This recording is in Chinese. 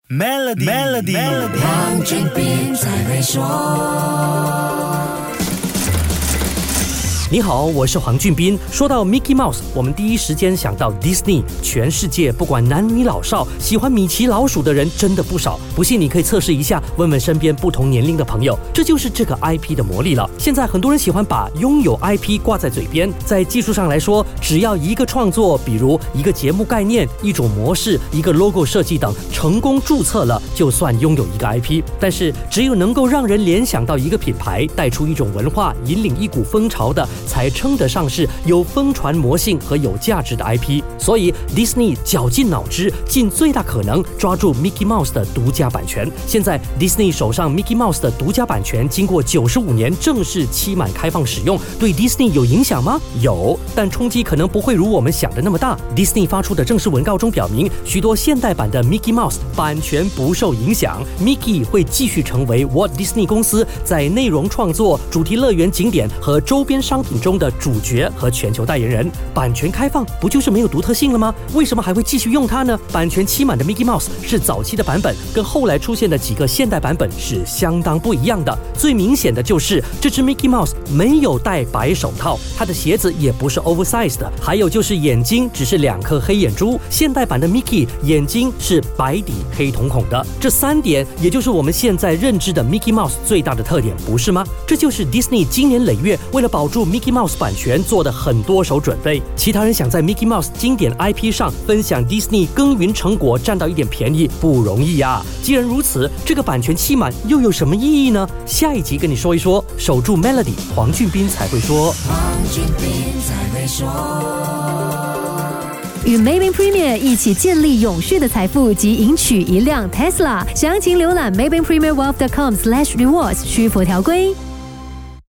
Melody， 黄俊斌才会说。 你好，我是黄俊斌。说到 Mickey Mouse， 我们第一时间想到 Disney。全世界不管男女老少，喜欢米奇老鼠的人真的不少。不信你可以测试一下，问问身边不同年龄的朋友，这就是这个 IP 的魔力了。现在很多人喜欢把拥有 IP 挂在嘴边，在技术上来说，只要一个创作，比如一个节目概念、一种模式、一个 logo 设计等，成功注册了，就算拥有一个 IP。但是只有能够让人联想到一个品牌，带出一种文化，引领一股风潮的，才称得上是有疯传魔性和有价值的 IP。所以 Disney 绞尽脑汁，尽最大可能抓住 Mickey Mouse 的独家版权。现在 Disney 手上 Mickey Mouse 的独家版权经过95年正式期满开放使用，对 Disney 有影响吗？有，但冲击可能不会如我们想的那么大。Disney 发出的正式文告中表明，许多现代版的 Mickey Mouse 版权不受影响， Mickey 会继续成为 Walt Disney 公司在内容创作、主题乐园景点和周边商品中的主角和全球代言人。版权开放不就是没有独特性了吗？为什么还会继续用它呢？版权期满的 Mickey Mouse 是早期的版本，跟后来出现的几个现代版本是相当不一样的。最明显的就是这只 Mickey Mouse 没有戴白手套，它的鞋子也不是 oversize 的，还有就是眼睛只是2颗黑眼珠。现代版的 Mickey 眼睛是白底黑瞳孔的。这3点也就是我们现在认知的 Mickey Mouse 最大的特点，不是吗？这就是 Disney 经年累月为了保住 Mickey Mouse 版权做的很多手准备。其他人想在 Mickey Mouse 经典 IP 上分享 Disney 耕耘成果，占到一点便宜不容易啊。既然如此，这个版权期满又有什么意义呢？下一集跟你说一说。守住 Melody， 黄俊斌才会说。 黄俊斌才会说。 与 Maybank Premier 一起建立永续的财富及赢取一辆 Tesla。详情浏览 maybankpremierwealth.com/rewards， 需符条规。